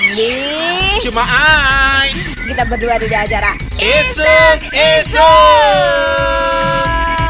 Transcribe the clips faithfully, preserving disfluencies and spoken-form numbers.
Ambi. Cuma Ai. Kita berdua di acara Isuk Isuk.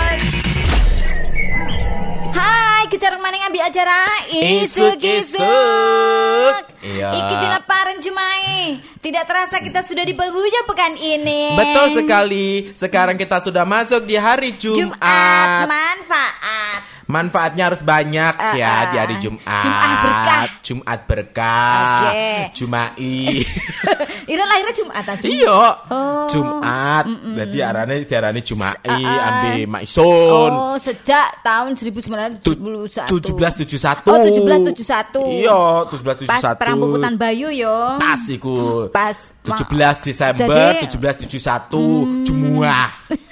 Hai, kejarang maning ambil acara Isuk Isuk. Iya. Iki dina paren Jumai. Tidak terasa kita sudah di penghujung pekan ini. Betul sekali. Sekarang kita sudah masuk di hari Jumat. Jumat manfaat. Manfaatnya harus banyak uh, ya di hari Jumat. Jumat berkah. Jumat berkah. Okay. Jumai. Ira lahirnya Jumat aja. Iya. Oh. Jumat. Mm-mm. Jadi arane diarani Jumai uh, uh. ambe Maison. Oh, sejak tahun seribu sembilan ratus tujuh puluh satu. tujuh belas tujuh puluh satu. Oh, tujuh belas tujuh puluh satu. Iya, tujuh belas tujuh puluh satu. Pas perang Puputan Bayu yo. Pas iku. Pas tujuh belas Desember Jadi, tujuh belas tujuh puluh satu. Hmm. Jumuah.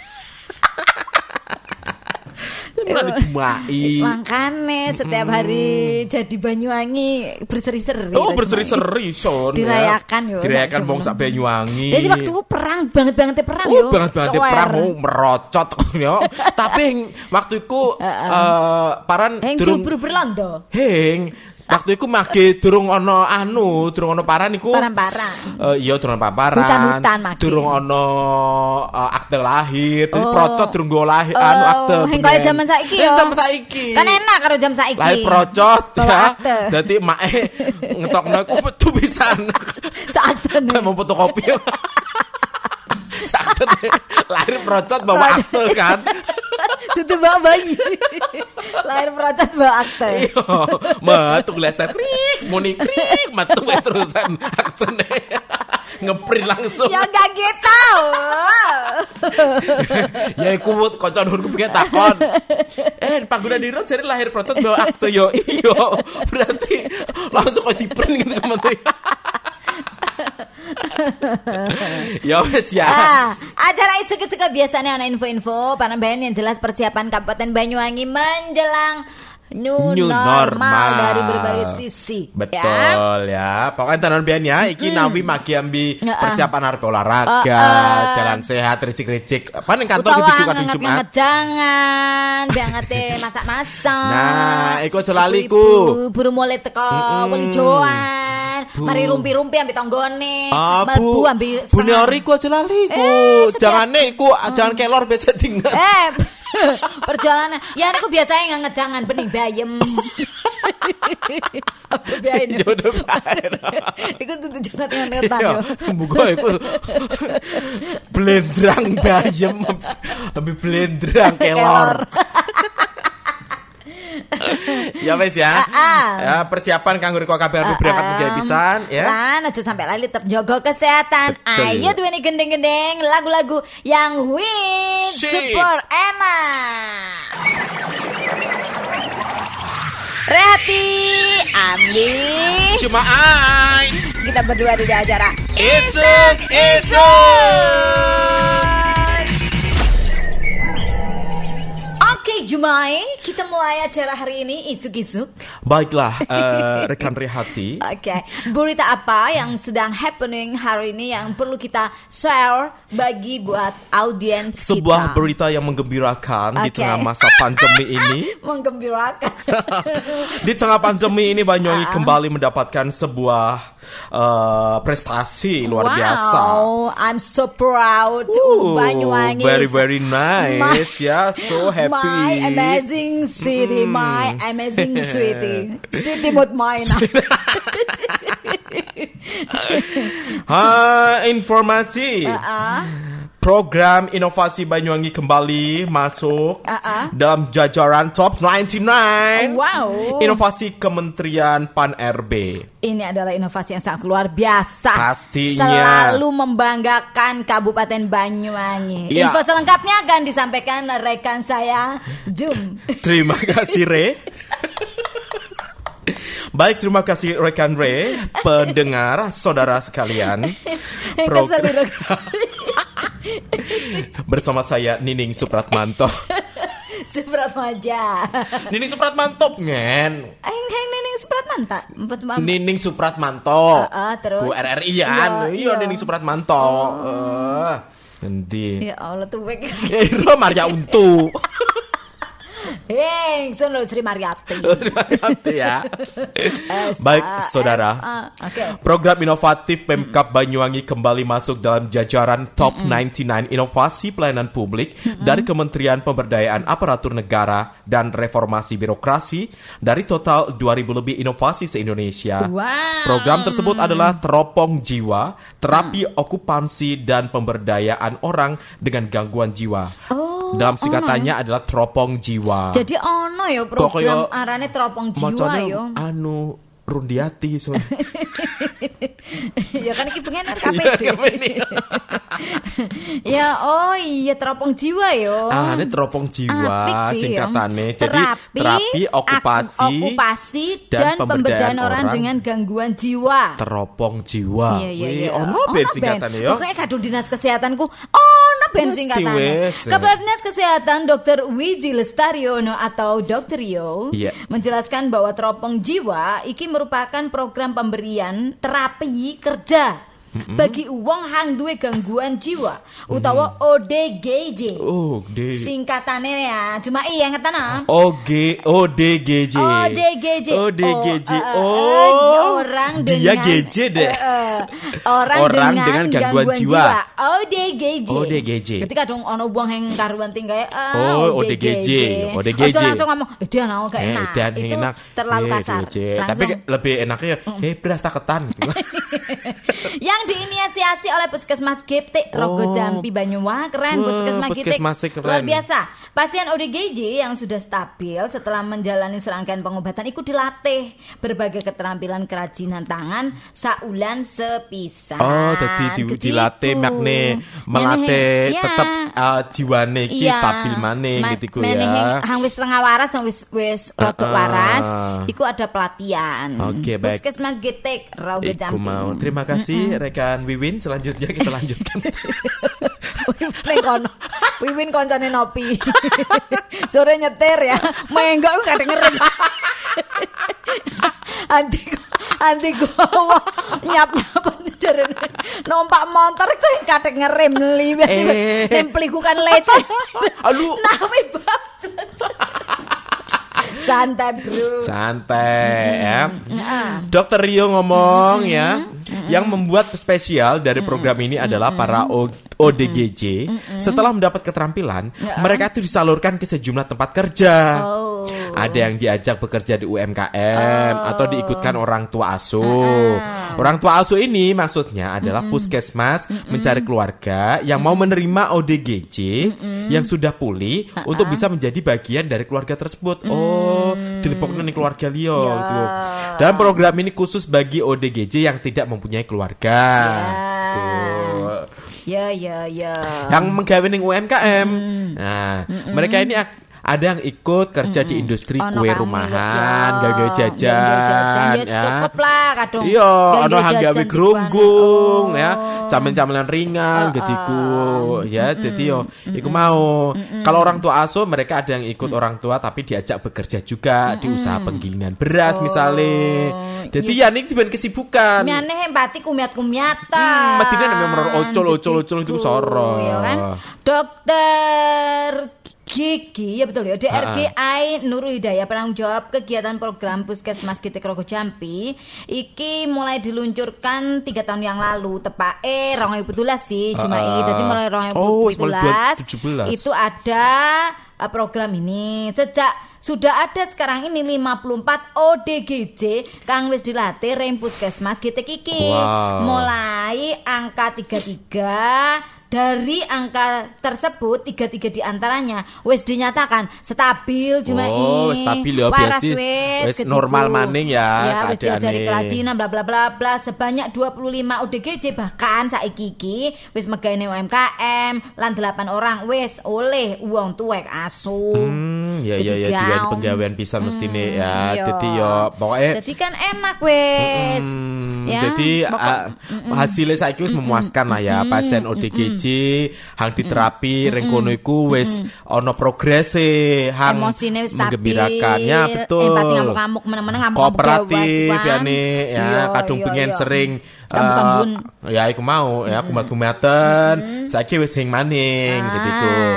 Mulai Jumai. Makanya setiap hari jadi Banyuwangi berseri-seri. Oh, berseri-seri son. Dirayakan yo. Dirayakan wong sak Banyuwangi. Jadi waktu itu perang banget-banget perang oh, yo. banget-banget perang oh, merocot yo. Tapi waktu itu uh, uh, paran durung berlondo. Heng waktu itu mage durung ono anu, durung ono paran iku. Paran-paran. Uh, iya durung paparan. Hutan-hutan mage. Durung ono uh, akte lahir, jadi oh. procot durung go lahir oh. anu akte. Heng kaya zaman saiki yo. Zaman saiki. Kan enak karo jam saiki. Lahir procot ya. Akte. Dadi mae ngetokno iku metu pisan. Saatene. Kan mau fotokopi. Saatene lahir procot bawa akte kan. Tutu bawa bayi. Lahir procot bawa akte. Iya, metu leser krik, muni krik, metu terusan aktene. Ngeprint langsung. Ya gak gitu. Ya iku kanca nuhunku pengen takon. Eh, Pangguna Diro jare lahir procot bawa akte yo. Iya, berarti langsung kok di-print gitu kementerian. Ya wes ya. Ah, acara isuk-isuk biasanya ana info-info panambahan yang jelas persiapan Kabupaten Banyuwangi menjelang new, new normal, normal dari berbagai sisi. Betul ya, ya. Pokoknya tanan bian ya iki hmm. nawi magi ambi uh, persiapan arep olahraga, uh, uh. jalan sehat, ricik-ricik. Apa ning kantor iki dibuka di Jumat. Jangan banget masak-masak. Nah, iku aja lali ku. Buru mulai teko mm-hmm. wali joan. Mari rumpi-rumpi ambil tonggone. Ah, bu ambil Bune ori ku aja lali ku. Eh, Jangane iku hmm. jangan kelor biasa tinggal. Eh, perjalanan. Ya aku biasanya nggak ngejangan bening bayem. Apa biain? Jodoh bae. Iku tuh jangan ngetan yo. Muga iku blendrang bayem. Ambil blendrang kelor. Ya wes ya. Ah, ah. Ya persiapan kanggo riko kabeh arep berangkat mugi pisan ya. Lan aja sampai lali tetap jaga kesehatan. Betul. Ayo tuh ini gendeng-gendeng lagu-lagu yang win super enak. Rehati Ambi. Cuma Ai. Kita berdua di acara Isuk Isuk. Oke Jumai, kita mulai acara hari ini isuk-isuk. Baiklah, uh, rekan Rehati. Oke, okay. Berita apa yang sedang happening hari ini yang perlu kita share bagi buat audiens kita? Sebuah berita yang menggembirakan okay. di tengah masa pandemi ini. Menggembirakan. Di tengah pandemi ini Banyuwangi uh. kembali mendapatkan sebuah uh, prestasi luar wow, biasa. Wow, I'm so proud to Banyuwangi. Very very nice, ya, yeah, so happy. My amazing sweetie, mm. my amazing sweetie, sweetie buat main. Ha, informasi. Uh-uh. Program inovasi Banyuwangi kembali masuk uh-uh. dalam jajaran top sembilan puluh sembilan. Wow. Inovasi Kementerian Pan R B. Ini adalah inovasi yang sangat luar biasa. Pastinya. Selalu membanggakan Kabupaten Banyuwangi. Ya. Info selengkapnya akan disampaikan rekan saya, Jum. Terima kasih, Re. Baik, terima kasih rekan Re, pendengar, saudara sekalian. Program bersama saya Nining Supratmanto. Supratmaja. Nining Supratmanto ngen. Enggak Nining Supratmanto. Nining Supratmanto. Uh, uh, terus. Ku R R I an. Iya Nining Supratmanto. Oh. Uh, nanti. Ya Allah tuh wek. Kira Maria Untu. Ingsun lho Sri Mariati. Sri Mariati ya. Baik saudara. Okay. Program inovatif Pemkab Banyuwangi kembali masuk dalam jajaran Top sembilan puluh sembilan Inovasi Pelayanan Publik mm-hmm. dari Kementerian Pemberdayaan Aparatur Negara dan Reformasi Birokrasi dari total dua ribu lebih inovasi se-Indonesia. Wow. Program tersebut adalah Teropong Jiwa, Terapi mm. Okupansi dan Pemberdayaan Orang dengan Gangguan Jiwa. Oh. Dalam singkatannya ono. Adalah Teropong Jiwa. Jadi ono ya program arane Teropong Jiwa yo. Anu Rundiati so. Ya kan iki pengen K P D. Ya oh iya Teropong Jiwa yo. Ah, ini Teropong Jiwa singkatannya. Jadi terapi, terapi okupasi, okupasi dan, dan pemberdayaan orang, orang dengan gangguan jiwa. Teropong Jiwa. Iya iya iya. Ono ben singkatannya yo. Pokoknya kadung dinas kesehatanku. Ono ben singkatannya. Kepala Dinas Kesehatan Dokter Wiji Lestariono atau Dokter Rio yeah. menjelaskan bahwa Teropong Jiwa iki merupakan program pemberian terapi kerja mm-hmm. bagi wong hang duwe gangguan jiwa utawa O D G J. Oh, D. Singkatannya ya, cuma iya ngetan ah. O G O D G J. O D G J. O D G J. Oh, uh, uh, uh, orang dia dengan G J deh. Uh, uh, orang, orang dengan, dengan gangguan, gangguan jiwa. jiwa. O D G J. O D G J. Ketika dong ono wong yang karuan tinggal uh, oh, O D G J. O D G J. Ojo langsung ngomong, eh dia nang gak enak. Eh, itu enak. terlalu eh, kasar. Tapi lebih enaknya eh beras taketan. Yang diinisiasi oleh Puskesmas G T Rogo Jampi Banyuwangi. Keren oh, Puskesmas G T. Luar biasa. Pasien O D G J yang sudah stabil setelah menjalani serangkaian pengobatan ikut dilatih berbagai keterampilan kerajinan tangan saulan sepisan. Oh, jadi di, dilatih makne melatih ya. Tetap uh, jiwane iki ya. Stabil maning Ma- gitu ya. Hang wis setengah waras wis wis rodok uh, waras, iku ada pelatihan. Oke, okay, baik. Puskesmas G T Rogo Jampi. Mau. Terima kasih mm-hmm. rekan Wiwin. Selanjutnya kita lanjutkan. Ning kono. Wiwin koncone nopi. Sore nyetir ya. Menggok ku kadang ngerem. Anti anti gua nyap-nyap jarene. Numpak motor ku kadang ngerem liwat. Eh. Nempliku kan lecet. Aduh. Nawi bablas. Santai bro. Santai ya. Mm-hmm. Dokter Rio ngomong mm-hmm. ya. Mm-hmm. Yang membuat spesial dari program ini mm-hmm. adalah para O D G J. Mm-hmm. Setelah mendapat keterampilan, yeah. mereka itu disalurkan ke sejumlah tempat kerja. Oh. Ada yang diajak bekerja di U M K M oh. atau diikutkan orang tua asuh. Uh-uh. Orang tua asuh ini maksudnya adalah mm-hmm. puskesmas mm-hmm. mencari keluarga yang mm-hmm. mau menerima O D G J mm-hmm. yang sudah pulih uh-uh. untuk bisa menjadi bagian dari keluarga tersebut. Mm-hmm. Oh, dilipoknya nih keluarga Leo yeah. gitu. Dan program ini khusus bagi O D G J yang tidak mempunyai keluarga. Yeah. Tuh. Ya ya ya. Yang menggawe ning U M K M. Mm. Nah, mm-mm. mereka ini ak- ada yang ikut kerja mm-mm. di industri ono kue rumahan, gawe jajan, ya cukup lah kadung. Iya, ono hang gawe grunggung oh. ya, camen-camenan ringan oh, getiku oh. ya, dadi yo iku mau. Kalau orang tua asuh mereka ada yang ikut mm. orang tua tapi diajak bekerja juga mm. di usaha penggilingan beras oh. misalnya. Jadi ya ini tiba kesibukan. Miane empati kumiat-kumiatan. Hmm, matine nek meror ocol-ocol-ocol itu soro. Ya kan? Dokter Gigi, ya betul ya, D R G I Nurul Hidayah penanggung jawab kegiatan program Puskesmas G T Rogo Jampi iki mulai diluncurkan tiga tahun yang lalu tepake dua ribu tujuh belas sih cuma uh, uh. Jadi mulai dua ribu tujuh belas oh, itu ada uh, program ini sejak sudah ada sekarang ini lima puluh empat O D G J kang wis dilatih rem Puskesmas G T iki. Wow. Mulai angka tiga puluh tiga dari angka tersebut tiga puluh tiga diantaranya wis dinyatakan stabil cuma oh, ini stabil ya biasa wis normal maning ya, ya wis diajari kerajinan bla bla bla bla sebanyak dua puluh lima O D G J bahkan saiki iki wis megane U M K M lan delapan orang wis oleh uang tuwek asuh. Hmm, ya ya ya diwani penggawean pisan hmm, mestine ya dadi yo pokoke dadi kan enak wis hmm, ya jadi uh, hasilnya saiki wis memuaskan lah ya pasien O D G J hang diterapi mm-hmm. rengkono iku wis ana mm-hmm. progrese hang emosine wis menggembirakan ya betul empati ngamuk-ngamuk meneng-meneng ngamuk kooperatif ya nih ya iyo, kadung iyo, pengen iyo. Sering kambun-kambun uh, ya iku mau ya kumat-kumatan mm-hmm. saiki wis hing maning ah. gitu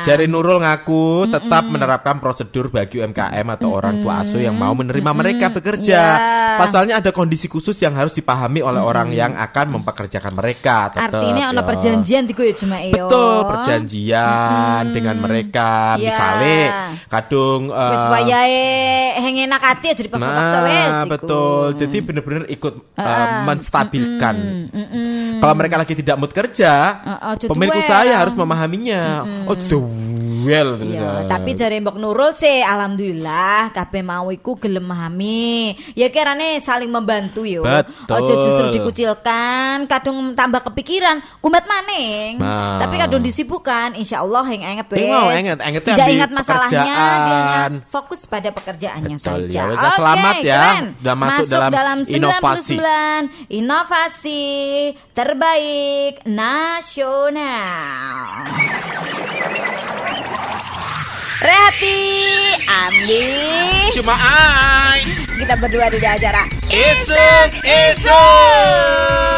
Jari Nurul ngaku tetap Mm-mm. menerapkan prosedur bagi U M K M atau Mm-mm. orang tua asuh yang mau menerima Mm-mm. mereka bekerja. Yeah. Pasalnya ada kondisi khusus yang harus dipahami oleh Mm-mm. orang yang akan mempekerjakan mereka. Tetep, artinya ada perjanjian tiku ya cuma iyo. Betul, perjanjian Mm-mm. dengan mereka. Yeah. Misalnya kadung uh, wis wayahe hengenak ati aja dipaksa-paksa nah, wis. Betul. Jadi benar-benar ikut uh, uh, menstabilkan. Mm-mm. Mm-mm. Kalau mereka lagi tidak mood kerja, uh, uh, pemilik usaha harus memahaminya. Mm-mm. Oh, the well. Ya, tapi jare Mbok Nurul sih alhamdulillah kabeh mau iku gelem memahami. Ya kirane saling membantu yo. Ojo justru dikucilkan, kadung tambah kepikiran, kumat maning. Nah. Tapi kadung disibukkan, insyaallah yang inget wes. Mau inget, inget tidak ingat masalahnya, dia ingat fokus pada pekerjaannya Betul, saja. Ya. Oke, selamat ya. Keren. Udah masuk, masuk dalam, dalam inovasi. Inovasi terbaik nasional. Rehati, Andi, cuma ai. Kita berdua di acara Isuk Isuk.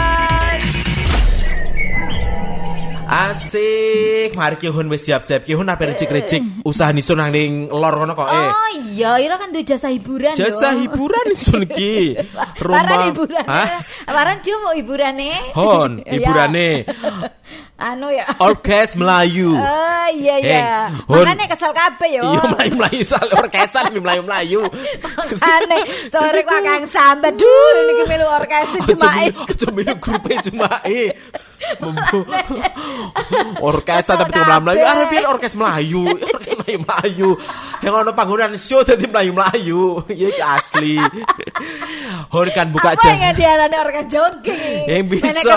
Asik, mari kihun wis siap-siap kihun apa recik-recik usaha nisun nang ning lor kono kok eh. Oh iya, ira kan duwe jasa hiburan. Jasa dong. Hiburan nisun ki. Rumah hiburan. Hah? Waran cuma hiburane. Hon, hiburane. Anu ya. Orkes Melayu. Oh iya iya. Makane kesel kabeh yo. Iya melayu-melayu soal orkesan melayu-melayu. Makane sore ku akang sambat. Duh niki melu orkes Jumae. Aja melu grupe Jumae. Orkes tapi melayu-melayu. Arep piye orkes Melayu? Orkes Melayu-melayu. Yang ono panggonan show dadi Melayu-melayu. Iya iki asli. Hor kan buka jam. Apa yang diarani orkes jogging? Yang bisa.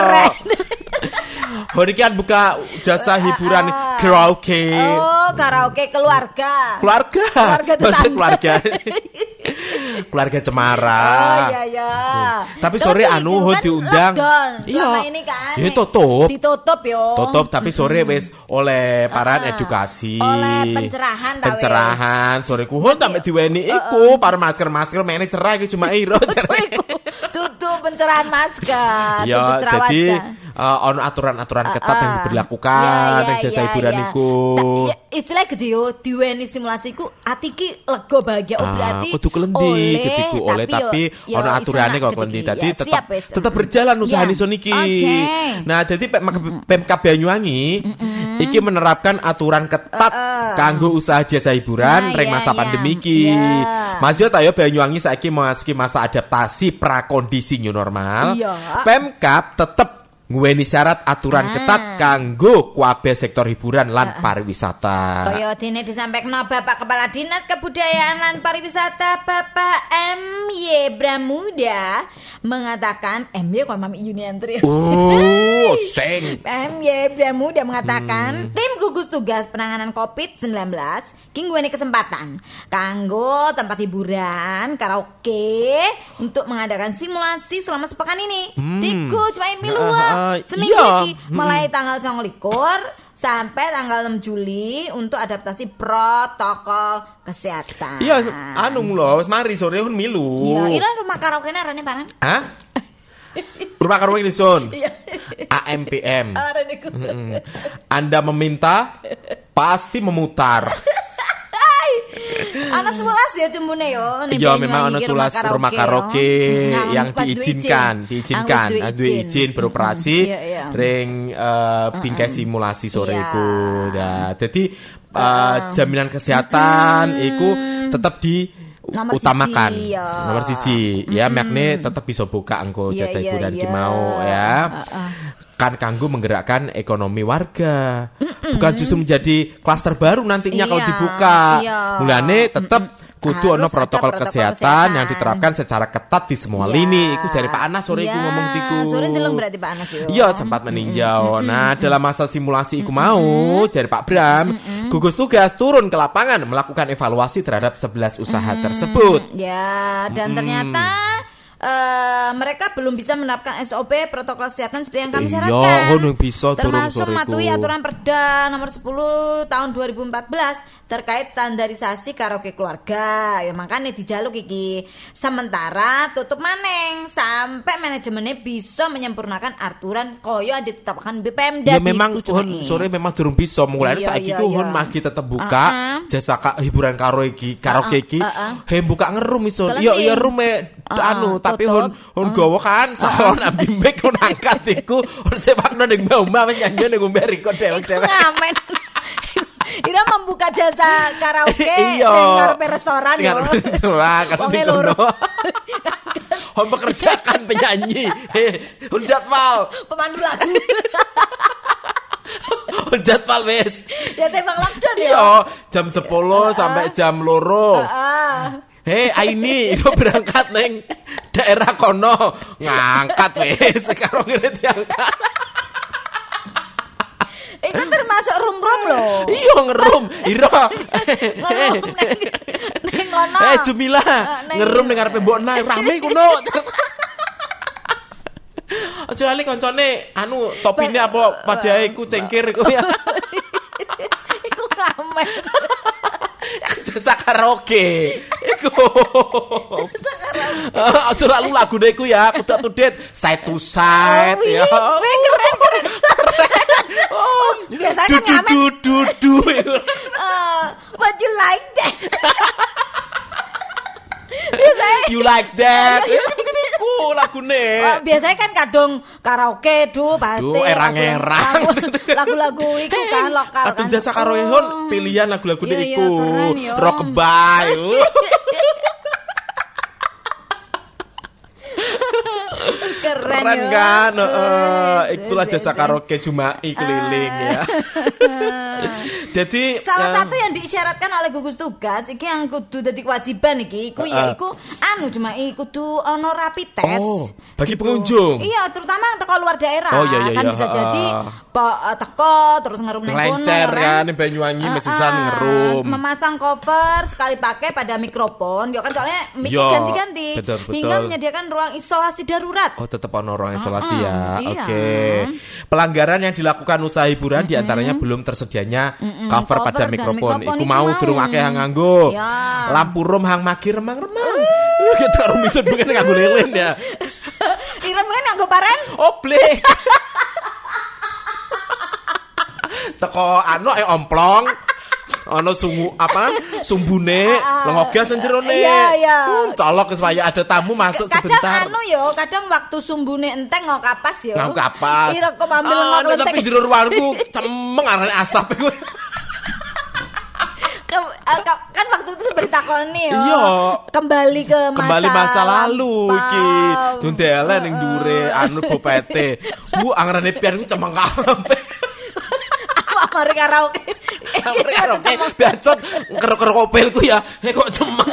Hor kan buka jasa hiburan karaoke. Oh, karaoke keluarga. Keluarga. Keluarga tetangga. Keluarga. Keluarga Cemara. Oh iya iya. Tapi sore anu ho diundang. Iya. Ini kan. Ya tutup. Ditutup yo. Tutup tapi sore wis oleh paran edukasi. Oleh pencerahan ta wis. Pencerahan sore ku ho sampe diweni iku para masker-masker mene cerah iki cuma iro cerah. Tutup pencerahan masker. Ya jadi uh, ono aturan-aturan ketat uh, uh. yang diberlakukan ning jasa hiburan iku. Istilah gede yo diweni simulasi iku ati ki lega bahagia oh berarti kudu klendi ketiku oleh tapi ono aturane kok klendi dadi tetap tetap berjalan usaha nisun iki. Nah dadi Pemkab Banyuwangi iki menerapkan aturan ketat kanggo usaha jasa hiburan ring masa pandemi iki. Mas yo ta yo Banyuwangi saiki memasuki masa adaptasi prakondisi new normal. Pemkab tetep nguweni syarat aturan ah. ketat kanggo kabeh sektor hiburan lan uh, pariwisata. Kaya dene disampaikan Bapak Kepala Dinas Kebudayaan lan Pariwisata Bapak M Y Bramuda mengatakan M Y kok Mami Yuniantri. Oh, sing. M Y Bramuda mengatakan hmm. tim gugus tugas penanganan covid sembilan belas ki nguweni kesempatan kanggo tempat hiburan karaoke untuk mengadakan simulasi selama sepekan ini. Hmm. Tiku cuma miluan. Uh, seminggu iya. Lagi mulai hmm. tanggal sembilan belas sampai tanggal enam Juli untuk adaptasi protokol kesehatan. Iya, anu lho, wis mari sore pun milu. Iya, ira rumah karaoke arane barang. Hah? Rumah karaoke di Son. A M P M. Mm-mm. Anda meminta pasti memutar. Ana sebelas ya cumbune yo. Iya memang ana sebelas rumah karaoke yang diizinkan, diizinkan, duwe izin beroperasi ring bingkai simulasi sore iku. Nah, dadi jaminan kesehatan iku tetap di nomor utamakan siji, ya. Nomor siji ya mm-hmm. makne tetap bisa buka engko yeah, jasa hiburan yeah, yeah. mau ya uh, uh. kan kanggo menggerakkan ekonomi warga mm-mm. bukan justru menjadi klaster baru nantinya yeah, kalau dibuka yeah. mulane tetap kudu ono protokol, protokol kesehatan, kesehatan yang diterapkan secara ketat di semua yeah. lini. Iku jari Pak Anas sore yeah. iku ngomong tiku. Sore ndeleng berarti Pak Anas yo. Iya, sempat meninjau. Mm-hmm. Nah, dalam masa simulasi iku mau jari Pak Bram, mm-hmm. gugus tugas turun ke lapangan melakukan evaluasi terhadap sebelas usaha mm-hmm. tersebut. Ya, dan mm-hmm. ternyata uh, mereka belum bisa menerapkan S O P protokol kesehatan seperti yang kami Iya, syaratkan. ngono bisa turun Termasuk sore mematuhi iku. aturan Perda nomor sepuluh tahun dua ribu empat belas terkait standarisasi karaoke keluarga. Ya makanya dijaluk iki. Sementara tutup maneng sampai manajemennya bisa menyempurnakan aturan koyo yang ditetapkan B P M D. Ya memang Hun sore memang durung bisa mulai Iya, saiki iya, ku iya. Hun magi tetep buka Uh-uh. jasa ka, hiburan karo iki karaoke iki. Uh-uh. He buka ngerum iso. Telepon. Iya iya rume Uh-uh, anu tapi Hun tutup. Hun gowo kan salon ambi mic Hun angkat iku Hun sepakno ning mbah-mbah wis nyanyi ning ngombe record dewek-dewek. Ngamen. Ira membuka jasa karaoke Iya. ning ngarepe restoran yo. Ngarepe restoran, kadang Wonge di loro. kono. Hun pekerjakan penyanyi. He, Hun jadwal. Pemandu lagu. Hun jadwal wis. Ya tembang lockdown ya. Iya, jam sepuluh sampai jam loro. Ah. Hei Aini, itu berangkat neng daerah kono ngangkat wes sekarang ini diangkat. Itu termasuk rum-rum loh. Iya ngerum, Iro. Ngerum neng neng kono. Eh Jumila, neng- ngerum ning ngarepe mbok nae rame kuno. Aja lali koncone anu topine apa padhae iku cengkir iku ya. Iku ngamen. Jasa karaoke. Iku. Jasa karaoke. Aja lalu lagune iku ya, kudu update side to side Oh, ya. iya. Wih, keren keren. Oh, biasanya Du kan du ngamen. du du du. Uh, what you like that? Biasanya You like that? Iku lagune. Oh, biasanya kan kadung karaoke du pasti Duh, erang-erang. lagu- lagu-lagu itu kan lokal Aduh kan. jasa karo Oh. Hun pilihan lagu-lagu Iya, iya, iku. keren, yo. Rockabye. Keren, Keren yo. kan? Heeh. Wes, Itulah wes, jasa wes. karaoke Jumai keliling ya. Jadi Salah eh, satu yang diisyaratkan oleh gugus tugas iki yang kudu dadi kewajiban iki iku ya Heeh. iku anu cuma kudu ono rapid test. Oh, bagi Gitu. pengunjung? Iya, terutama teko luar daerah. Oh, iya, iya, kan iya, bisa heeh. jadi po, eh, teko terus ngerum nang kono Kelencer ya kan, ning Banyuwangi Heeh. mesisan ngerum. Memasang cover sekali pakai pada mikrofon. Ya kan soalnya mic Yo, ganti-ganti betul, betul. hingga menyediakan ruang isolasi darurat. Oh tetap ono ruang isolasi Heeh, ya. iya. Oke. Pelanggaran yang dilakukan usaha hiburan diantaranya belum tersedianya cover cover pada dan mikrofon. mikrofon Iku iku mau mau. durung akeh yang nganggo. Ya. Lampu rum hang magi remang-remang. Kita rumisut pengen nganggo lilin ya. Irem kan nganggo paren. Oblek. Teko anu ae omplong. Ono sungu apa? Sumbune, lengogas nang jerone. Iya, iya. Hmm, colok supaya ada tamu masuk Kadang sebentar. anu yo, kadang waktu sumbune enteng ngok kapas yo. Ngau kapas. Ira kok ambil Ah, ngok nek tapi enteng. jero ruangku cemeng arane asap iku. Ke- eh, ka- kan waktu itu seperti takoni yo. Iya. Kembali ke masa Kembali masa lalu iki. lampau. Dundelen ning dure anu bopete. Bu angrene pian ku cemeng kabeh. Apa mari karaoke. Oke, bacot kerok-kerok opelku ya. Eh kok cemeng.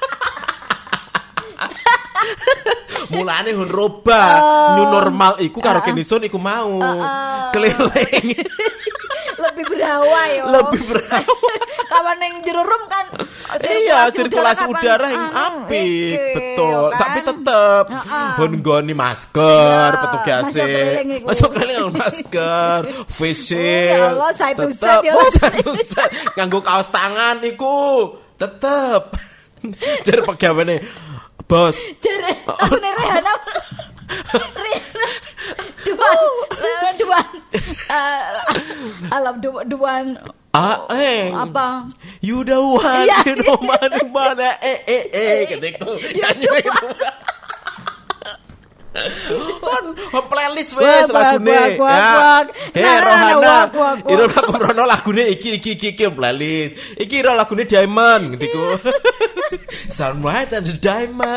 Mulane hun roba new normal iku karo Kenison iku mau keliling. Lebih berawa yo. Lebih berawa. Kawan yang jero rum kan Iya, sirkulasi kapan- udara yang anu, apik, iki, betul. kan? Tapi tetep Heeh. hun nggoni masker, Ya, petugasnya masuk keliling iku. masuk keliling nganggo masker, face Oh, ya shield. Allah, side to tetep. side ya. Oh, side to side. Nganggo kaos tangan iku tetep. Jar pegawene bos. Jere, aku nih Rihanna. Rihanna. Duan, eh, duan. Eh, alam du- duan. Ah, eh. Apa? You the one, Iya. you know mana mana eh eh eh gitu. Nyanyi itu. On, on playlist wes Wak, wak, lagune wak, wak, ya. wak. Eh Nah, Rohana, wak, wak, wak. Iro aku Rono lagune iki iki iki iki playlist. Iki iro lagune Diamond gitu. Sunrise and the Diamond.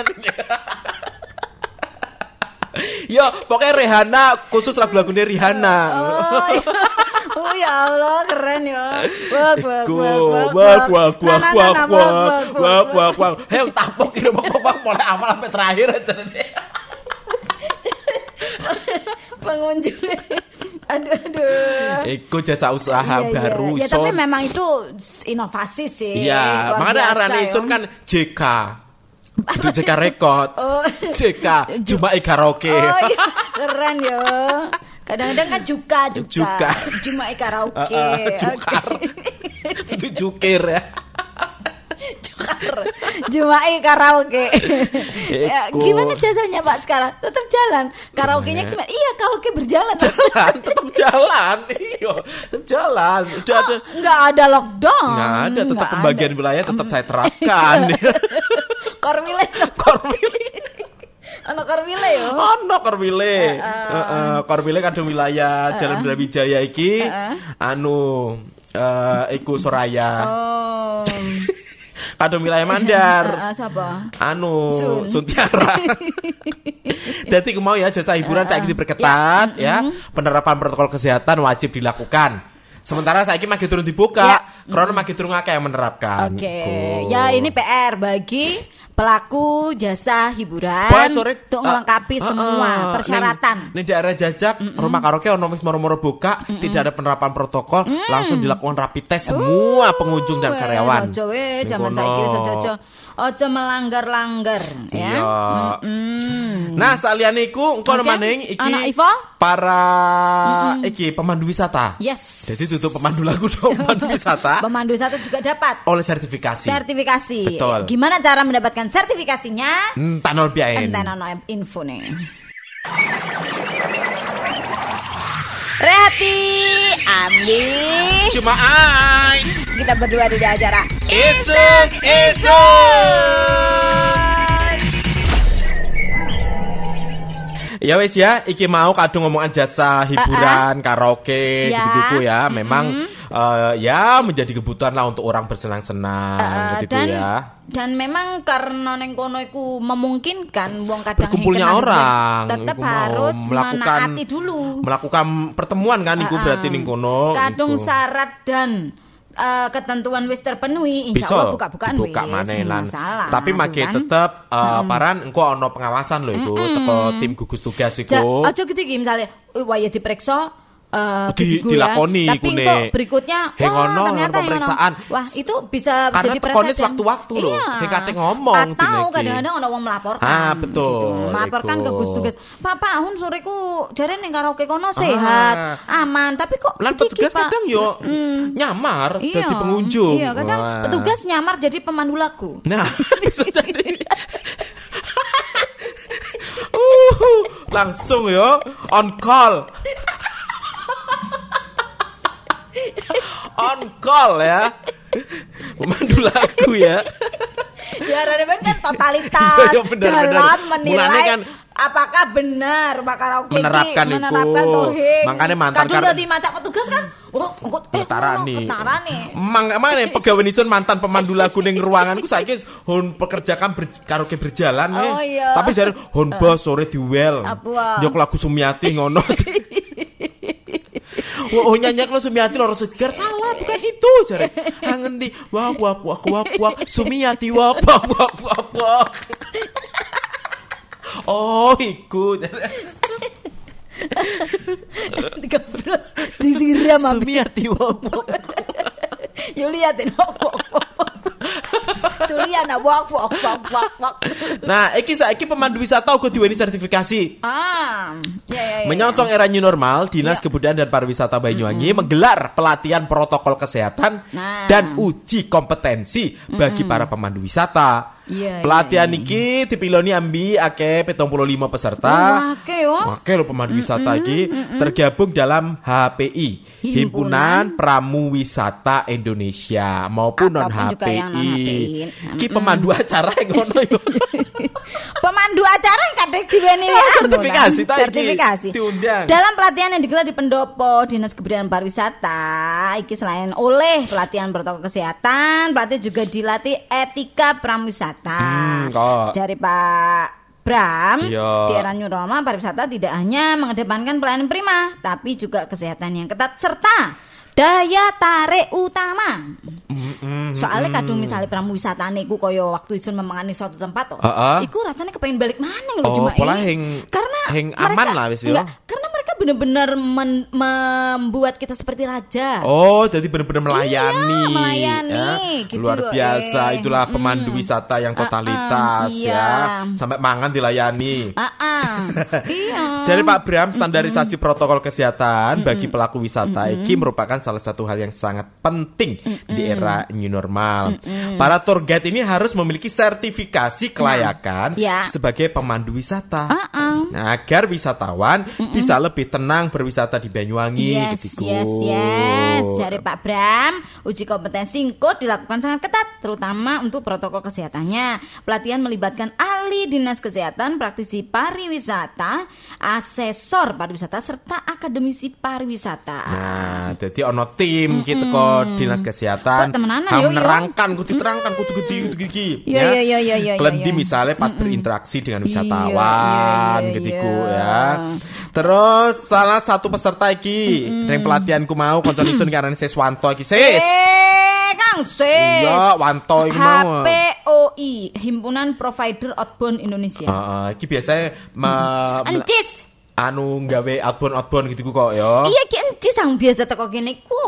Yo, pokoknya Rihanna khusus lagu-lagunya Rihanna. Oh, iya. Oh ya Allah, keren ya. Wak, wak, Iku, wak, wak wak Nah, wak nah, wak nah, wak wak wak wak. Hei, tapok ini wak wak wak mulai awal sampai terakhir aja nih. pengunjung. Aduh, aduh. Iku jasa usaha Iya, iya. baru. Ya Son. tapi memang itu inovasi sih. Iya, Luar makanya biasa, arane ya. Isun kan J K. Itu J K Record. Oh. J K Jumae Karaoke. Oh iya, keren ya. Kadang-kadang kan juga juga. Juga. Jumae Karaoke. Uh, uh, jukar. Itu jukir ya. Jumae Karaoke. Ya, Eko. gimana jasanya Pak sekarang? Tetap jalan. Karaoke-nya gimana? Iya, karaoke berjalan. Jalan, tetap jalan. Iya, tetap jalan. Udah Oh, ada. nggak ada lockdown. Nggak ada, tetap Nggak pembagian ada. wilayah tetap saya terapkan. Korwile Korwile. ono korwile yo. Ono Korwile. Heeh, Korwile kadang wilayah Jalan Brawijaya iki anu eh iku Soraya. Oh. Kadang wilayah Mandar. Ah, siapa? Anu Sun. Suntiara. Jadi aku mau ya jasa hiburan saya diperketat ya. Penerapan protokol kesehatan wajib dilakukan. Sementara saya ini masih turun dibuka, Ya. karena masih turun akeh yang menerapkan. Oke. Gitu. Ya ini P R bagi pelaku jasa hiburan Boleh sore untuk melengkapi uh, semua uh, persyaratan. Ning daerah Jajak, rumah karaoke ono wis moro-moro buka, tidak ada penerapan protokol, langsung dilakukan rapid test semua pengunjung dan Weh, karyawan. Ojo we, Ning zaman kono. saiki wis ojo ojo melanggar-langgar ya. Iya. Mm. Nah, saliyane iku engko Oke. maning iki Anak Ivo? para iki pemandu wisata. Yes. Jadi tutup pemandu lagu dong, pemandu wisata Pemandu wisata juga dapat oleh sertifikasi. sertifikasi. Betul. Gimana cara mendapatkan sertifikasinya? Hmm, tanol biain. Enten ono info nih. Rehati, Ambi, Cuma ai. kita berdua di acara Isuk, isuk. Ya wes ya, iki mau kadung ngomongan jasa hiburan, karaoke, Ya. gitu-gitu ya. Memang eh, ya menjadi kebutuhan lah untuk orang bersenang-senang, Uh, gitu dan ya. dan memang karena neng kono iku memungkinkan wong kadang Berkumpulnya kenal orang, tetap iku mau harus melakukan- menaati dulu. Melakukan pertemuan kan, iku Uh-uh. berarti ning kono. Kadung iku. syarat dan uh, ketentuan wis terpenuhi, insya Bisa Allah buka-bukaan dibuka wis maneh lan. masalah. Tapi make kan? tetep uh, paran engko ono pengawasan lho iku teko tim gugus tugas Ja, iku. aja gitu iki misalnya waya diperiksa eh Di- gigiku dilakoni ya. Tapi ikune. kok berikutnya Heng wah ono, ternyata ono yang pemeriksaan. ono. Wah, itu bisa Karena jadi tekonis presiden. waktu-waktu loh. Iya. Heng kate ngomong Atau dineki. kadang-kadang ono wong melaporkan. Ah, betul, Gitu. Melaporkan iku. ke Gugus Tugas. Pak, Pak, hun soreku jare ning karaoke kono sehat, aman, tapi kok Lan gigi, petugas Pak? kadang yo nyamar Iya, dadi pengunjung. Iya, kadang Wah. petugas nyamar jadi pemandu lagu. Nah, bisa jadi. uh, langsung yo on call. On call ya. Pemandu lagu ya. Ya, ada kan totalitas Iya, iya, benar, dalam benar. menilai Mulane kan apakah benar Pak karaoke iki menerapkan iku. menerapkan tohing. Makanya mantan kadung kar- dadi macak petugas kan. Oh, engko eh Ketarani. ketarani. Mang mana pegawai nisun mantan pemandu lagu ning ruanganku saiki hun pekerjakan ber, karaoke berjalan Oh, eh. iya. Tapi jare hun bos sore diwel. Apa? Yo lagu Sumiati ngono. Oh nyanyi lo Sumiati loro segar salah bukan itu jare. Ah ngendi wak wak wak wak wak Sumiati wak wak wak wak wak. Oh iku jare. Tiga bros disiram abi. Sumiati wak wak. Yo liatin wak wak wak. Juliana wak wak wak wak wak. Nah, iki saiki pemandu wisata uga diweni sertifikasi. Ah, ya ya ya. Menyongsong era new normal, Dinas Ya. Kebudayaan dan Pariwisata Banyuwangi menggelar pelatihan protokol kesehatan Nah. dan uji kompetensi bagi para pemandu wisata. Iya, Pelatihan iya, iki dipiloni ambi akeh pitung puluh lima peserta. Wah, oke yo. Oke lo pemandu wisata iki tergabung dalam H P I, Himpunan Pramu Wisata Indonesia maupun non Ataupun H P juga yang non H P I. I. Iki pemandu acara yang ngono yo. Pemandu acara yang kadek diweni Oh, sertifikasi, ta iki. sertifikasi. Diundang. Dalam pelatihan yang digelar di Pendopo Dinas Kebudayaan Pariwisata, iki selain oleh pelatihan protokol kesehatan, pelatih juga dilatih etika pramuwisata. Hmm, kok. Jari Pak Bram, Iya. di era new normal pariwisata tidak hanya mengedepankan pelayanan prima, tapi juga kesehatan yang ketat serta daya tarik utama. Soalnya kadung misalnya pramuwisatane iku kaya waktu isun memangani suatu tempat toh. Heeh. Iku rasanya kepengen balik mana lho Oh, cuma pola ini. heng- karena heng mereka- aman lah wis yo. enggak, karena mereka benar-benar men- membuat kita seperti raja. Oh, jadi benar-benar melayani. Iya, melayani, ya. gitu, Luar biasa. eh. Itulah pemandu Mm. wisata yang totalitas Uh-uh, ya. iya. Sampai mangan dilayani. Ah, iya. Jadi Pak Bram, standarisasi protokol kesehatan bagi pelaku wisata ini merupakan salah satu hal yang sangat penting di era new normal. Para tour guide ini harus memiliki sertifikasi kelayakan ya. sebagai pemandu wisata. Uh-uh. Nah, agar wisatawan bisa lebih tenang berwisata di Banyuwangi Yes, gitu. yes, yes. Dari Pak Bram, uji kompetensi Ingkut dilakukan sangat ketat, terutama untuk protokol kesehatannya. Pelatihan melibatkan ahli dinas kesehatan, praktisi pariwisata, asesor pariwisata, serta akademisi pariwisata. Nah, jadi ono tim gitu kok dinas kesehatan. Kok temenanan, Ham yo, yo. menerangkan, kudu diterangkan, kudu gede, kudu gigi. Yo, yo, yo, yo, yo, Klendi yo. misalnya pas berinteraksi dengan Iya, wisatawan, iya, iya, gitu iya. ya. Terus salah satu peserta iki, yang pelatihanku mau konco isun karena Seswanto iki, Sis. Eh, Kang Sis. Iya, Wanto iki H mau. P O I, Himpunan Provider Outbound Indonesia. Heeh, iki biasanya me- me- Encis. anu gawe outbound-outbound gitu kok ya. Iya, ki encis sang biasa teko kene ku.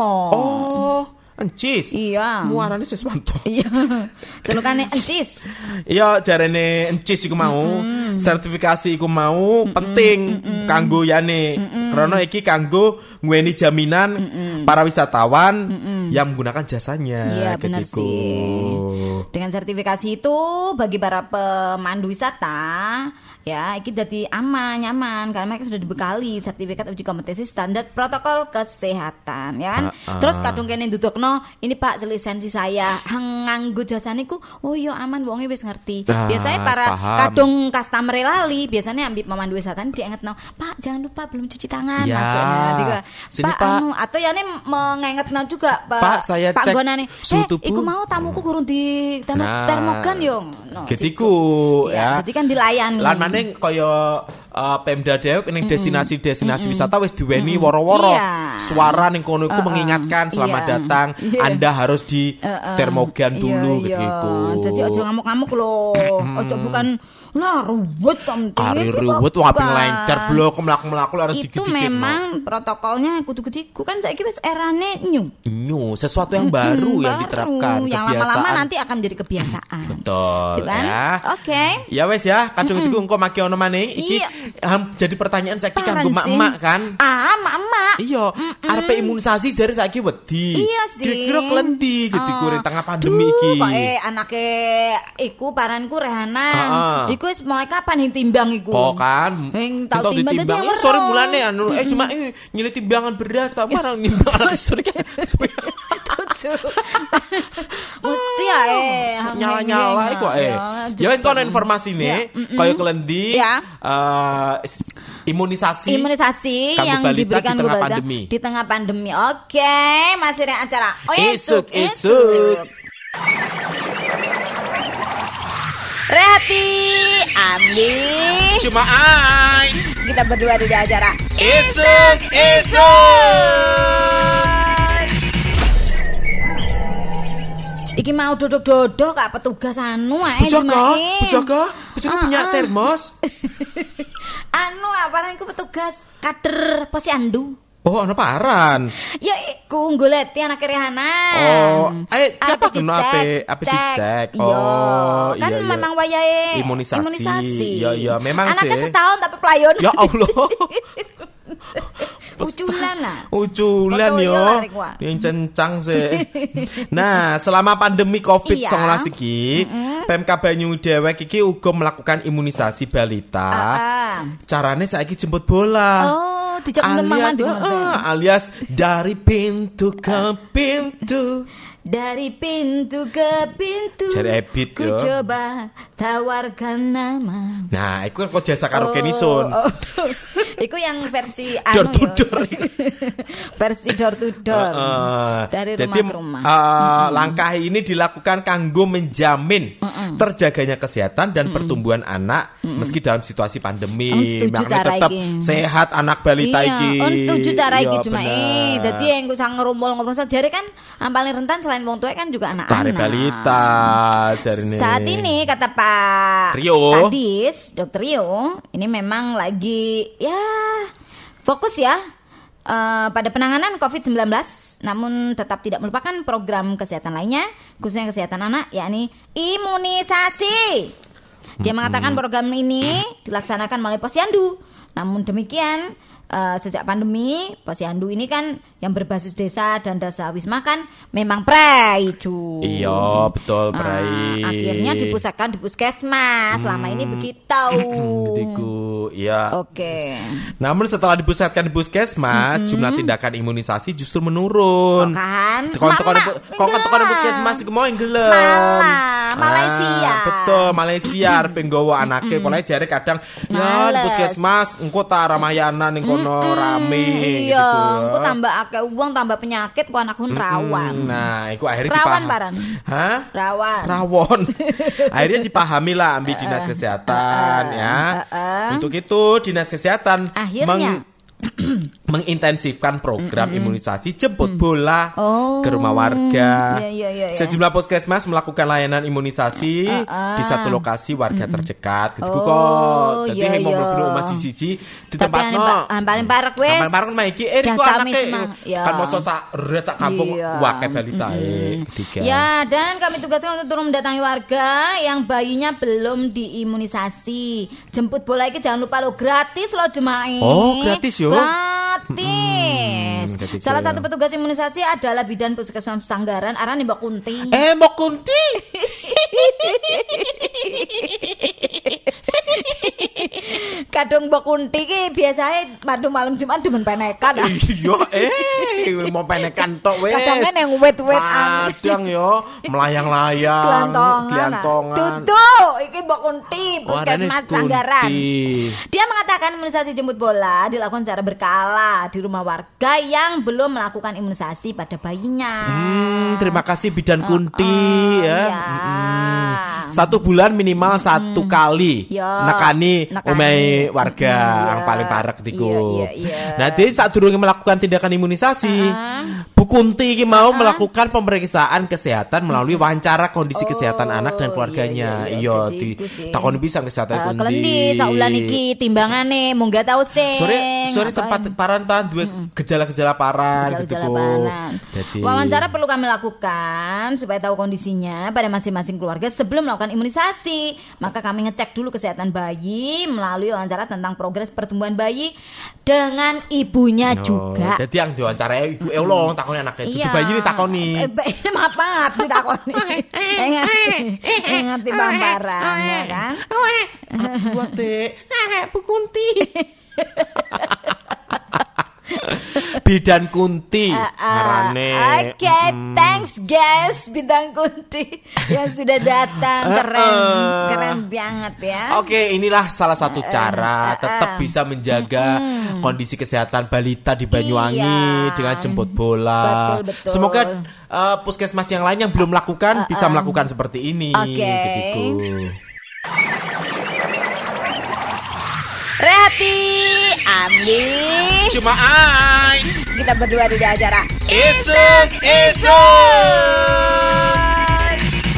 Oh, encis. Iya. Muarane Seswanto. Iya. Celukane encis. Iya, jarene encis iku mau, sertifikasi iku mau penting kanggo yane. Karena iki kanggo nguweni jaminan para wisatawan yang menggunakan jasanya. Iya, benar ketiku. sih. Dengan sertifikasi itu bagi para pemandu wisata, ya, iki dadi aman, nyaman karena mereka sudah dibekali sertifikat uji kompetensi standar protokol kesehatan, ya kan? Ah, ah. Terus kadung kene ndudukno, ini Pak lisensi saya nganggo jasane ku, oh iya aman wonge wis ngerti. Ah, Biasanya para paham. kadung customer lali, biasanya ambil pemandu wisata diingetno, Pak jangan lupa belum cuci tangan, Ya. masuknya. Tiga, Sini, Pak, Pak. anu, atau ya ini mengingatno juga Pak, Pak, saya Pak cek Gonane, suhu eh, tubuh. iku mau tamuku kurang di termo, Nah, termogan yo. No, Ketiku ya. Jadi kan dilayani. Lan maneh kaya uh, Pemda dewek ning destinasi-destinasi wisata wis diweni woro-woro. Iya. Suara ning kono iku Uh-uh. mengingatkan selamat Iya. datang. Iya. Anda harus di Uh-uh. termogan Iya, dulu iya. gitu. Jadi ojo ngamuk-ngamuk loh. Ojo bukan lah ruwet penting. Kari Itu ruwet bukan. wae lencer blok mlaku-mlaku lara Itu dikit-dikit. memang protokolnya kudu-kudu kan saiki wis erane new. New, sesuatu yang baru yang Baru. diterapkan, Yang kebiasaan. lama-lama nanti akan menjadi kebiasaan. Betul Gitu kan? ya. Oke. Ya wes ya, kadung itu engko maki ono maneh iki Iya. ham, jadi pertanyaan saiki Paran kanggo sih. mak-mak kan. Ah, mak-mak. Iya, arepe imunisasi jare saiki wedi. Iya sih. Kira-kira klendi gitu Oh. di tengah pandemi Duh, iki. Kok eh anake iku paranku Rehana. Heeh. Iku wis mulai kapan yang timbang iku? Kok kan? Yang tahu Tahu timbang ditimbang. tadi yang Eh, sorry weruh. mulane anu eh cuma eh nyilih timbangan beras tak barang nimbang sorry. Tujuh. Mesti ya eh Nyala-nyala iku eh. Ya wis kono informasi Ya, nih, mm-mm. kaya klendi Ya. eh, is- imunisasi. Imunisasi Kanggo yang balita diberikan di tengah kepada- pandemi. di tengah pandemi. Oke, masih ada acara. Oh, Isuk, isuk. Rehati, Andi, Cuma ai. kita berdua di acara. Isuk, isuk. Iki mau dodok-dodok kak petugas anu ae Bujaka, Jumae. bujaka, bujaka Ah, punya ah. termos. Anu apa iku petugas kader posyandu. Oh, ana paran. Ya iku goleti anak Rehana. Oh, eh, Arep apa kena dicek, ape ape cek. dicek? Iya, Oh, kan iya, iya. memang wayahe Imunisasi. Iya, iya, memang Anaknya sih. setahun tapi pelayon. Ya Allah. Uculan lah. Uculan Foto yo. yo larik, wah. Yang cencang sih. Nah, selama pandemi covid sembilan belas Iya. iki, Pemkab Banyu dewek iki uga melakukan imunisasi balita. Ah, ah. Carane saiki jemput bola. Oh, dijak memang alias, uh, alias dari pintu ke pintu. Dari pintu ke pintu. Jare Ebit, ku yo. coba tawarkan nama. Nah, iku kan kok jasa karo Kenison. Oh, oh. Iku yang versi Door anu to yo. door. Versi door to door. Heeh. Dari rumah Jadi, ke rumah. eh, langkah ini dilakukan kanggo menjamin terjaganya kesehatan dan pertumbuhan anak meski dalam situasi pandemi. Om, setuju Makanya cara tetap iki. sehat anak balita Iya, iki. on setuju cara Iya, iki cuma bener. eh dadi yang gue sang ngerumpul-ngumpul jare kan yang paling rentan selain wong tua kan juga Para anak-anak. balita jarine. Saat ini kata Pak Rio. Kadis, Dokter Rio, ini memang lagi ya fokus ya uh, pada penanganan covid sembilan belas, namun tetap tidak melupakan program kesehatan lainnya, khususnya kesehatan anak, yakni imunisasi. Dia mengatakan program ini dilaksanakan melalui posyandu. Namun demikian, uh, sejak pandemi, posyandu ini kan yang berbasis desa dan desa wisma kan memang prei, cu. Iya, betul, prei. Nah, akhirnya dipusatkan di puskesmas. Selama ini begitu. Begitu, iya. Oke. Namun setelah dipusatkan di puskesmas, mm-hmm. jumlah tindakan imunisasi justru menurun. Oh, kan? Tekan-tekan puskesmas iku mau gelem. Malah, Malaysia. Ah, betul, Malaysia arep nggawa anake, pokoke jare kadang ya di puskesmas engko ta ramayanan ning kono rame gitu. Iya, engko tambah akeh uang, tambah penyakit ku anakku rawan. Nah, iku akhirnya rawan dipaham. paran. Hah? Rawan. Rawon. Akhirnya dipahami lah ambil dinas kesehatan ya. Untuk itu dinas kesehatan akhirnya mengintensifkan program mm-hmm. imunisasi jemput bola oh, ke rumah warga. Iya, iya, iya, iya. Sejumlah puskesmas melakukan layanan imunisasi uh, uh. di satu lokasi warga mm-hmm. terdekat. Gitu oh, kok. Jadi iya, yang mau iya. mlebu omah siji di tempat no. Tapi paling parek wes. Paling parek mah iki eh kok anake kan moso sak recak kampung iya. wae balitae mm-hmm. ketiga. Ya, dan kami tugaskan untuk turun mendatangi warga yang bayinya belum diimunisasi. Jemput bola iki jangan lupa lo gratis lo jemaah. Oh, gratis yo. Gratis. Hmm, salah satu petugas imunisasi adalah bidan puskesmas Sanggaran arane Mbak Kunti. Eh, Mbak Kunti. Kadung Mbak Kunti ki biasanya madu malam Jumat demen penekan. Iya, eh mau penekan tok wes. Kadang yang wet-wet kadang yo melayang-layang, glantongan. Duduk, iki Mbak Kunti puskesmas Sanggaran. Dia mengatakan imunisasi jemput bola dilakukan secara berkala di rumah warga yang belum melakukan imunisasi pada bayinya. Hmm, terima kasih bidan Kunti uh, uh, ya. ya. Hmm. Satu bulan minimal hmm. satu kali ya. nekani omahe warga hmm, yang paling parek tiku. Iya, iya, iya. Nah, jadi saat durunge melakukan tindakan imunisasi, uh-huh. Bu Kunti iki mau uh-huh. melakukan pemeriksaan kesehatan melalui wawancara kondisi oh, kesehatan anak dan keluarganya. Iya, di takon pisan kesehatan uh, Kunti. Klendi saulan iki timbangane mung gak tau sing. Sore sore sempat paran tahan dua mm-hmm. gejala-gejala paran gitu kok. Wawancara perlu kami lakukan supaya tahu kondisinya pada masing-masing keluarga sebelum melakukan imunisasi. Maka kami ngecek dulu kesehatan bayi melalui wawancara tentang progres pertumbuhan bayi dengan ibunya no, juga. Jadi yang diwawancarai ibu eh lo takoni anaknya. Itu iya. Bayi ini takoni. Eh, maaf ditakoni. Ingat ingat di bambaran ya kan. Buat deh. Bu Kunti. Bidan Kunti uh, uh, ngarane. Oke, okay, hmm. thanks guys Bidan Kunti yang sudah datang. Keren, uh, uh. keren banget ya. Oke, okay, inilah salah satu cara uh, uh, uh. tetap bisa menjaga uh, kondisi kesehatan balita di Banyuwangi iya. dengan jemput bola. Betul, betul. Semoga uh, puskesmas yang lain yang belum melakukan uh, uh. bisa melakukan seperti ini. Oke. Okay. Gitu. Rehati, Andi, cuma ai. Kita berdua di acara Isuk Isuk.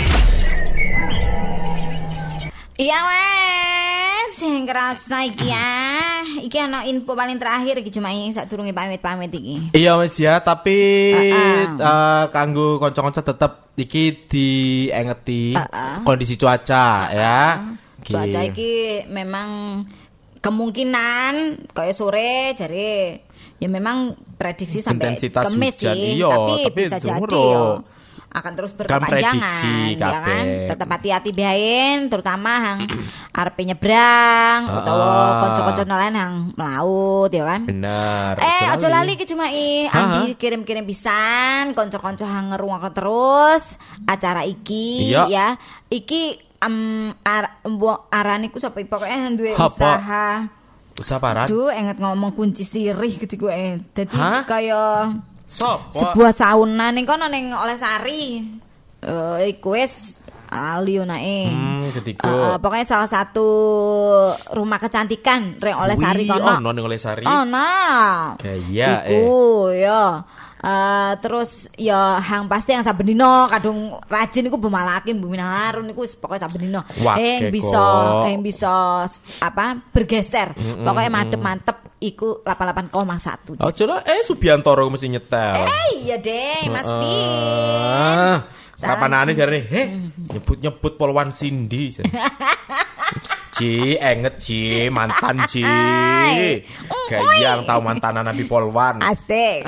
Iya wes, yang kerasa iki ya. Iki ana info paling terakhir iki cuma ini sadurunge pamit-pamit iki. Iya wes ya, tapi uh-uh. uh, kanggo kanca-kanca tetep iki diengeti uh-uh. kondisi cuaca uh-uh. ya. Okay. Cuaca iki memang kemungkinan kayak sore jadi ya memang prediksi sampai Kamis sih, iyo, tapi, tapi bisa jadi yo akan terus berkepanjangan kan ya kan. Tetap hati-hati biayain terutama yang arepe nyebrang uh, utawa kanca-kanca lain yang melaut ya kan. Bener. Eh aja lali ki cuma i Andi kirim-kirim pisan kanca-kanca yang ngerungokke terus acara iki iya. ya. Iki Um, ar, arane ku sampai pokoknya duwe usaha. Usaha paran? Duh, inget ngomong kunci sirih gitu gue. Jadi kaya so, sebuah sauna ning kono ning Olehsari. Eh uh, iku wis ali onae. Hmm, ketika. Uh, pokoknya salah satu rumah kecantikan ring Olehsari kono. Oh, no ning Olehsari. Oh, nah. Kayak eh. Iku ya. Uh, terus ya hang pasti yang saben dino kadung rajin iku bemalakin Bumi Harun iku pokoke saben dino yang bisa yang bisa apa bergeser mm-mm. Pokoknya mantep-mantep iku delapan puluh delapan koma satu. Oh, coba eh Subiantoro mesti nyetel. Eh iya deh, Mas Uh, Bin. Kapanane jare, "Heh, nyebut-nyebut Polwan Cindy." Ci, enget Ci, mantan Ci. Gayang tahu mantanan Nabi Polwan. Asik.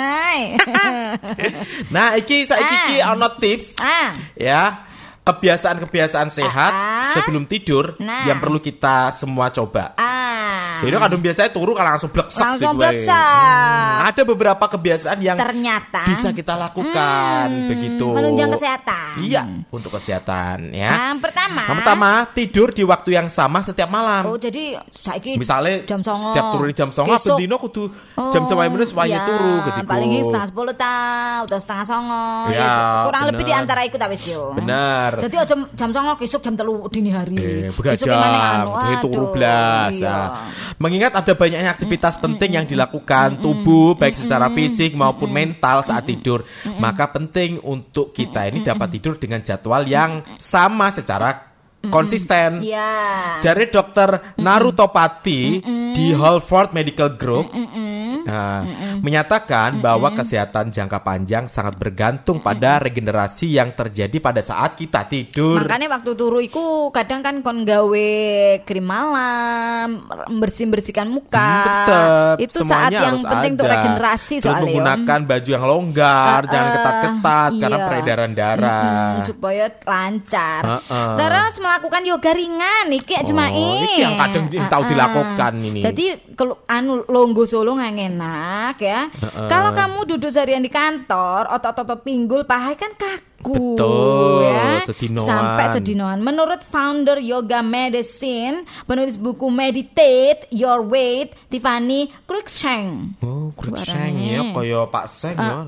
Nah, iki saiki iki ono tips. Ah. Ya. Kebiasaan-kebiasaan sehat Ah. sebelum tidur Nah. yang perlu kita semua coba. Ah. Jadi kadang biasanya turu kalau langsung bleksek Langsung gitu, eh. bleksek. Hmm, ada beberapa kebiasaan yang Ternyata bisa kita lakukan hmm, begitu. menunjang kesehatan. Iya, untuk kesehatan ya. Yang pertama. Yang pertama, tidur di waktu yang sama setiap malam. Oh, jadi saiki Misalnya jam songo. setiap turu di jam songo, Besok. bendino kudu jam-jam ae meneh supaya iya, turu gitu. Paling setengah sepuluh ta, atau setengah songo. Ya, Ya, kurang bener. lebih di antara iku ta wis yo. Bener. Jadi jam jam songo besok jam telu dini hari. Eh, Besok gimana anu? begadang, jadi turu Aduh, blas. iya. Nah, mengingat ada banyaknya aktivitas penting yang dilakukan tubuh baik secara fisik maupun mental saat tidur, maka penting untuk kita ini dapat tidur dengan jadwal yang sama secara konsisten. Iya. Jari dokter Narutopati di Harvard Medical Group nah, menyatakan bahwa kesehatan jangka panjang sangat bergantung pada regenerasi yang terjadi pada saat kita tidur. Makanya waktu turu iku kadang kan kon gawe krim malam, bersih-bersihkan muka. Hmm, tetep, Itu saat semuanya yang harus penting untuk ada. regenerasi Terus soalnya. menggunakan baju yang longgar, Uh, jangan uh, ketat-ketat karena iya. peredaran darah. Mm, supaya lancar. Uh, uh. Terus melakukan yoga ringan iki cuma Oh, iki yang kadang tahu dilakukan ini. Jadi kalau anu longgo solo nggak enak ya. Uh-uh. Kalau kamu duduk seharian di kantor, otot-otot pinggul paha kan kaku. Betul, ya. sedinoan. Sampai sedinoan. Menurut founder Yoga Medicine, penulis buku Meditate Your Weight, Tiffany Cruikshank. Oh, Cruikshank Suaranya. ya, kaya Pak Seng ya.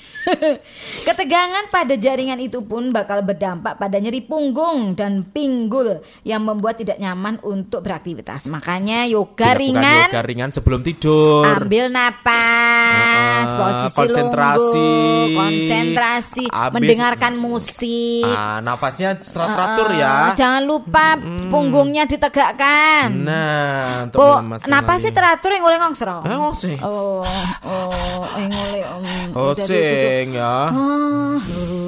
Ketegangan pada jaringan itu pun bakal berdampak pada nyeri punggung dan pinggul yang membuat tidak nyaman untuk beraktivitas. Makanya yoga Dilakukan ringan, yoga ringan sebelum tidur. ambil napas, Uh-uh, posisi konsentrasi. lungguh, konsentrasi, Abis- mendengarkan musik. Ah, nafasnya teratur Uh, ya. Jangan lupa punggungnya ditegakkan. Nah, untuk Po, melemaskan napasnya lagi. teratur yang oleh ngongsro. Eh, oh sih. Oh, oh, yang oleh om. Oh Jadi sing ya. Ah,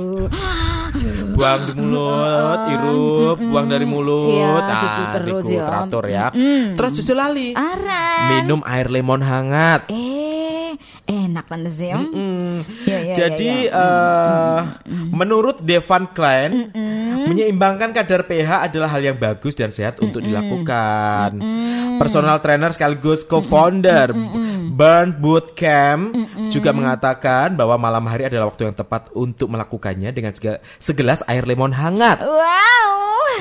Buang di mulut, irup, buang dari mulut. Iya, Nah, gitu terus iku ya. teratur ya. Terus justru lali. Arang. Minum air lemon hangat. Eh, enak pantes ya. Hmm. Ya, ya, Jadi ya, ya. eh, menurut Devan Klein, menyeimbangkan kadar pH adalah hal yang bagus dan sehat untuk dilakukan. Personal trainer sekaligus co-founder Burn Bootcamp juga mengatakan bahwa malam hari adalah waktu yang tepat untuk melakukannya dengan sege- segelas air lemon hangat. Wow.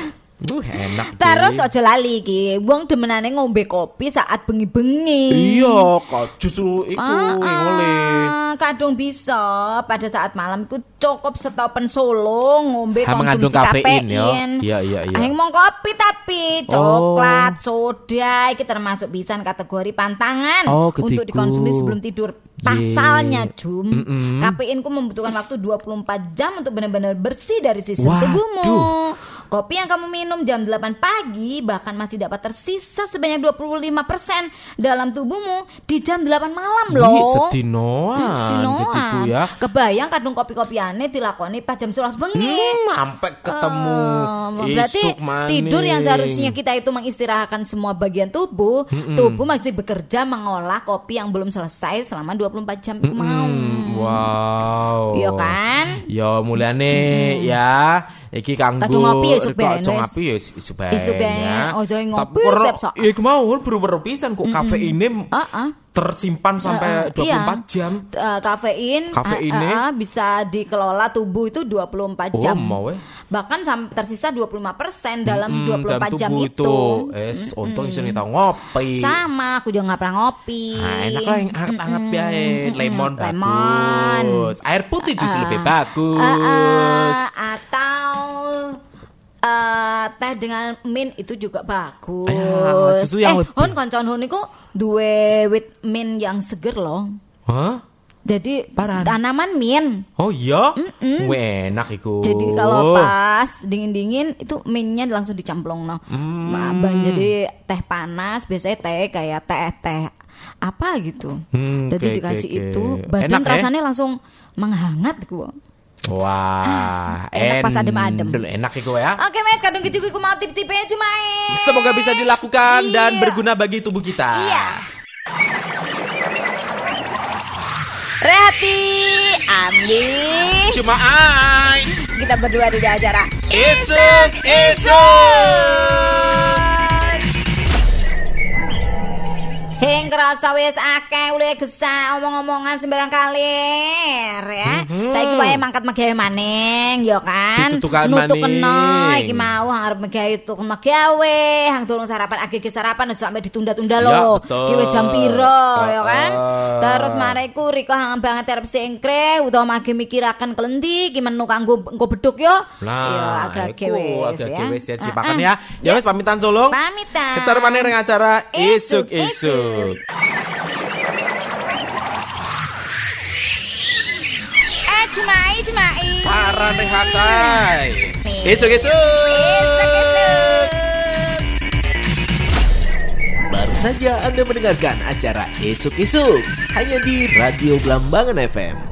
Uh, enak. Terus Deh. aja lali iki, wong demenane ngombe kopi saat bengi-bengi. Iya, kok justru iku yang oleh. Ah, kadung bisa pada saat malam iku cukup stopen solo ngombe Ha, mengandung konsumsi kafein, kafein. ya. Iya, iya, iya. Aing mau kopi tapi coklat, soda iki termasuk bisa kategori pantangan Oh, untuk ketiku. dikonsumsi sebelum tidur. Pasalnya, Jum, Mm-mm. kafein ku membutuhkan waktu dua puluh empat jam untuk benar-benar bersih dari sistem Waduh. tubuhmu. Kopi yang kamu minum jam delapan pagi bahkan masih dapat tersisa sebanyak dua puluh lima persen dalam tubuhmu di jam delapan malam loh. Wih, sedinoan, Hmm, sedinoan. ketiku ya. Kebayang kadung kopi-kopiane dilakoni pas jam sebelas bengi. Hmm, sampai ketemu Oh, berarti isuk maning. tidur yang seharusnya kita itu mengistirahatkan semua bagian tubuh, tubuh masih bekerja mengolah kopi yang belum selesai selama dua puluh empat jam itu mau. Hmm, wow. Iya kan? Ya mulane ya iki kanggo Kadung ngopi ya isuk bae, Kok wes. ngopi ya isuk bae. Isuk bae, ya. ojo ngopi Tapi karo- sep-sok. ya iku mau beru-beru pisan kok kafeine Heeh. tersimpan sampai Heeh, dua puluh empat iya. jam. Eh, kafein, Kafeinnya? eh, eh, bisa dikelola tubuh itu dua puluh empat Oh, jam. mau eh. Bahkan sam- tersisa dua puluh lima persen dalam Hmm, dua puluh empat dalam jam tubuh itu. Es, untung iso tau ngopi. Sama, aku juga nggak pernah ngopi. Nah, enak lah yang hangat-hangat biae. Lemon Lemon. bagus. Air putih justru Ah. lebih bagus. Eh, eh, atau eh, teh dengan mint itu juga bagus. Ya, justru yang eh, lebih- Hon koncon Hon iku duwe wit mint yang seger loh. Hah? Jadi Paran. tanaman min. Oh iya? Wih, enak iku. Jadi kalau pas dingin-dingin itu minnya langsung dicamplong no. Hmm. Jadi teh panas biasanya teh kayak teh-teh apa gitu. Hmm, Jadi oke, dikasih oke, itu oke. badan Enak, ya? rasanya langsung menghangat gitu. Wah, Enak pas adem-adem. endel, enak iku ya. Oke Mas, kadung gitu aku mau tip-tipnya cuma Semoga bisa dilakukan Iya. dan berguna bagi tubuh kita. Iya. Rehati, Andi, Cuma ai. kita berdua di acara Isuk, isuk. Heng kerasa wis akeh ulih gesah omong-omongan sembarang kalir ya. Mhm. Saiki wae mangkat megawe maning ya kan. Ditutukan Nutukno maning. iki mau arep megawe tuku megawe, hang durung sarapan agek sarapan aja sampe ditunda-tunda Ya, lho. betul. Ki wis jam piro ya kan. Heeh. Terus mareku Riko hang banget arep singkre utawa mage mikiraken klendi ki menu kanggo engko beduk yo. Nah, agak iku, wis agak ya. wis ya Heeh. sipakan ya. Ya wis pamitan sulung. Pamitan. Kecar maneh ning acara Isuk, isuk-isuk. Eh cemai cemai. Para rehatai. Nih. Isuk-isuk. Isuk-isuk. Baru saja Anda mendengarkan acara Isuk-Isuk hanya di Radio Blambangan F M.